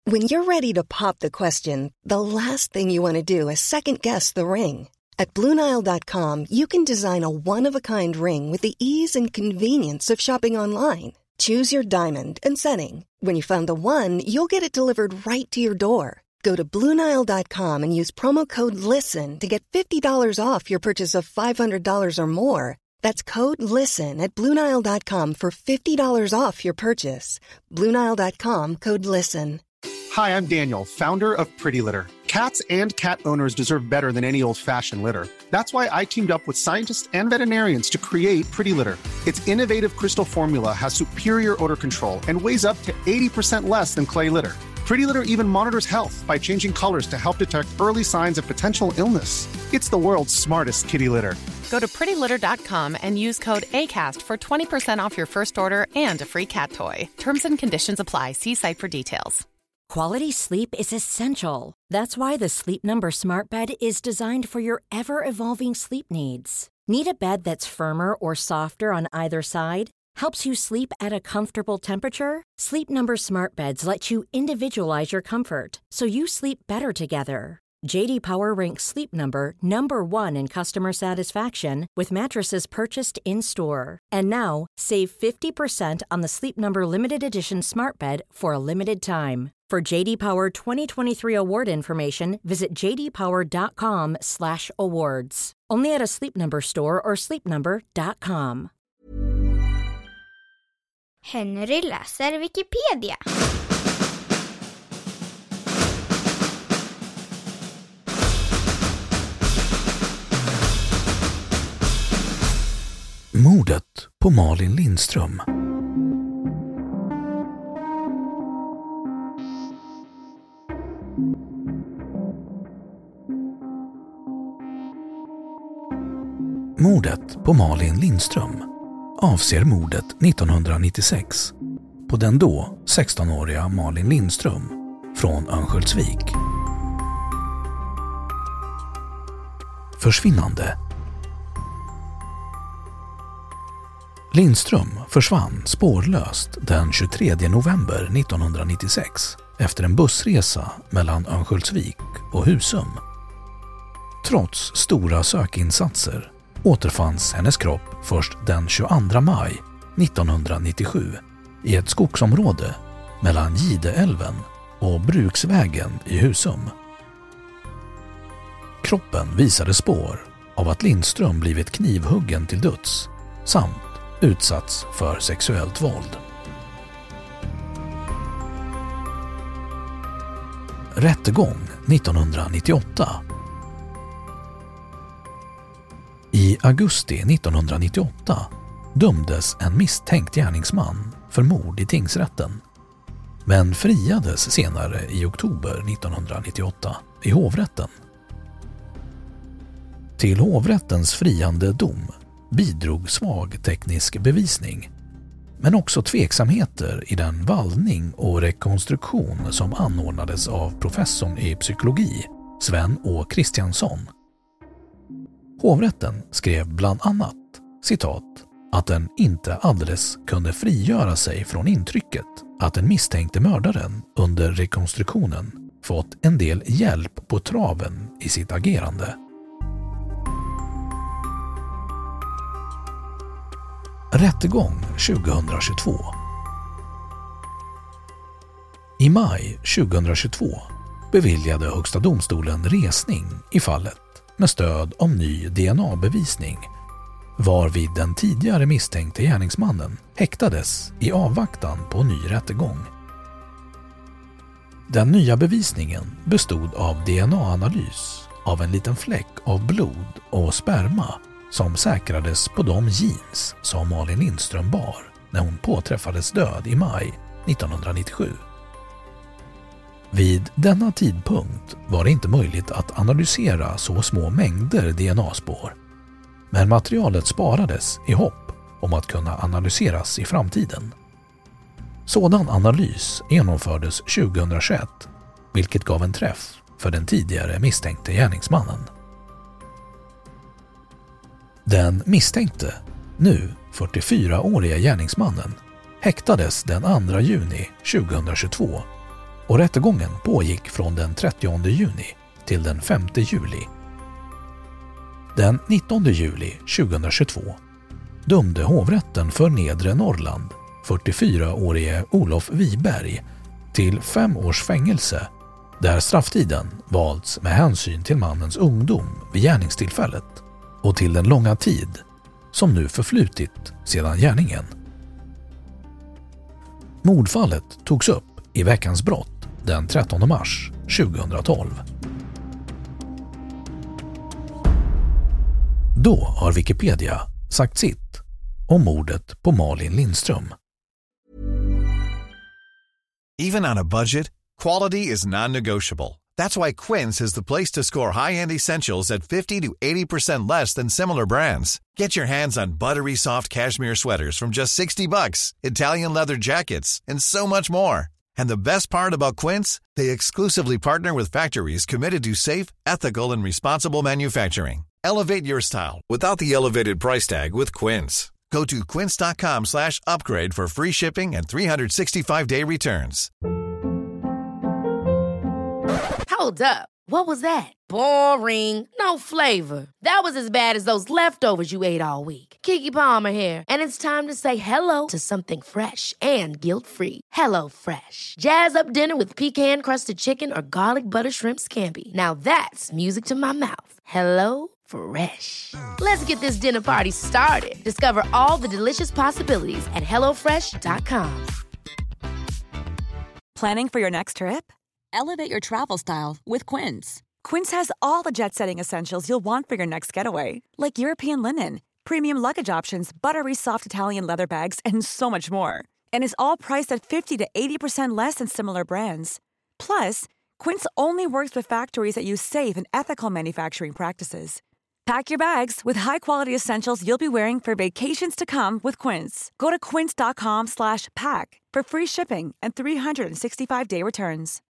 When you're ready to pop the question, the last thing you want to do is second-guess the ring. At BlueNile.com, you can design a one-of-a-kind ring with the ease and convenience of shopping online. Choose your diamond and setting. When you find the one, you'll get it delivered right to your door. Go to BlueNile.com and use promo code LISTEN to get $50 off your purchase of $500 or more. That's code LISTEN at BlueNile.com for $50 off your purchase. BlueNile.com, code LISTEN. Hi, I'm Daniel, founder of Pretty Litter. Cats and cat owners deserve better than any old-fashioned litter. That's why I teamed up with scientists and veterinarians to create Pretty Litter. Its innovative crystal formula has superior odor control and weighs up to 80% less than clay litter. Pretty Litter even monitors health by changing colors to help detect early signs of potential illness. It's the world's smartest kitty litter. Go to prettylitter.com and use code ACAST for 20% off your first order and a free cat toy. Terms and conditions apply. See site for details. Quality sleep is essential. That's why the Sleep Number Smart Bed is designed for your ever-evolving sleep needs. Need a bed that's firmer or softer on either side? Helps you sleep at a comfortable temperature? Sleep Number Smart Beds let you individualize your comfort, so you sleep better together. J.D. Power ranks Sleep Number #1 in customer satisfaction with mattresses purchased in-store. And now, save 50% on the Sleep Number Limited Edition Smart Bed for a limited time. For J.D. Power 2023 award information, visit jdpower.com/awards. Only at a Sleep Number store or sleepnumber.com. Henry läser Wikipedia. Mordet på Malin Lindström. Mordet på Malin Lindström avser mordet 1996 på den då 16-åriga Malin Lindström från Örnsköldsvik. Försvinnande. Lindström försvann spårlöst den 23 november 1996 efter en bussresa mellan Örnsköldsvik och Husum. Trots stora sökinsatser återfanns hennes kropp först den 22 maj 1997 i ett skogsområde mellan Gideälven och Bruksvägen i Husum. Kroppen visade spår av att Lindström blivit knivhuggen till döds samt utsatts för sexuellt våld. Rättegång 1998. I augusti 1998 dömdes en misstänkt gärningsman för mord i tingsrätten, men friades senare i oktober 1998 i hovrätten. Till hovrättens friande dom bidrog svag teknisk bevisning, men också tveksamheter i den vallning och rekonstruktion som anordnades av professorn i psykologi Sven Å. Kristiansson. Hovrätten skrev bland annat, citat, att den inte alldeles kunde frigöra sig från intrycket att den misstänkte mördaren under rekonstruktionen fått en del hjälp på traven i sitt agerande. Rättegång 2022. I maj 2022 beviljade Högsta domstolen resning i fallet med stöd av ny DNA-bevisning, varvid den tidigare misstänkte gärningsmannen häktades i avvaktan på ny rättegång. Den nya bevisningen bestod av DNA-analys av en liten fläck av blod och sperma som säkrades på de jeans som Malin Lindström bar när hon påträffades död i maj 1997. Vid denna tidpunkt var det inte möjligt att analysera så små mängder DNA-spår, men materialet sparades i hopp om att kunna analyseras i framtiden. Sådan analys genomfördes 2021, vilket gav en träff för den tidigare misstänkte gärningsmannen. Den misstänkte, nu 44-åriga gärningsmannen, häktades den 2 juni 2022 och rättegången pågick från den 30 juni till den 5 juli. Den 19 juli 2022 dömde hovrätten för Nedre Norrland 44-årige Olof Wiberg till 5 års fängelse, där strafftiden valts med hänsyn till mannens ungdom vid gärningstillfället och till den långa tid som nu förflutit sedan gärningen. Mordfallet togs upp i Veckans brott den 13 mars 2012. Då har Wikipedia sagt sitt om mordet på Malin Lindström. Even on a budget, quality is non-negotiable. That's why Quince is the place to score high-end essentials at 50 to 80% less than similar brands. Get your hands on buttery soft cashmere sweaters from just $60, Italian leather jackets, and so much more. And the best part about Quince, they exclusively partner with factories committed to safe, ethical, and responsible manufacturing. Elevate your style without the elevated price tag with Quince. Go to quince.com/upgrade for free shipping and 365-day returns. Hold up. What was that? Boring. No flavor. That was as bad as those leftovers you ate all week. Keke Palmer here, and it's time to say hello to something fresh and guilt-free. Hello Fresh. Jazz up dinner with pecan-crusted chicken or garlic butter shrimp scampi. Now that's music to my mouth. Hello Fresh. Let's get this dinner party started. Discover all the delicious possibilities at hellofresh.com. Planning for your next trip? Elevate your travel style with Quince. Quince has all the jet-setting essentials you'll want for your next getaway, like European linen, premium luggage options, buttery soft Italian leather bags, and so much more. And is all priced at 50 to 80% less than similar brands. Plus, Quince only works with factories that use safe and ethical manufacturing practices. Pack your bags with high-quality essentials you'll be wearing for vacations to come with Quince. Go to quince.com/pack for free shipping and 365-day returns.